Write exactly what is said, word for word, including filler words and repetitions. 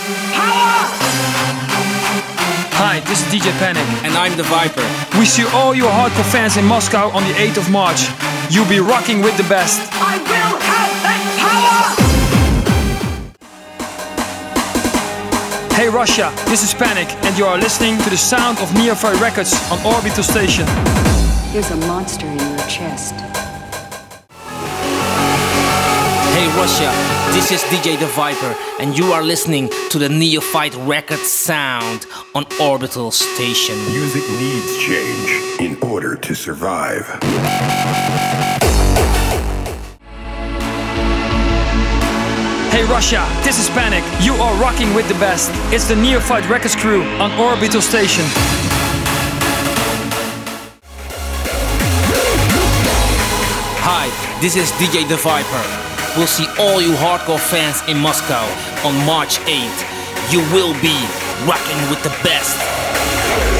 Hi, this is D J Panic. And I'm the Viper. We see all your hardcore fans in Moscow on the eighth of March. You'll be rocking with the best. I will have that power! Hey Russia, this is Panic, and you are listening to the sound of Neophyte Records on Orbital Station. There's a monster in your chest. Hey Russia, this is D J The Viper, and you are listening to the Neophyte Records sound on Orbital Station. Music needs change in order to survive. Hey Russia, this is Panic. You are rocking with the best. It's the Neophyte Records crew on Orbital Station. Hi, this is D J The Viper. We'll see all you hardcore fans in Moscow on March eighth. You will be rocking with the best.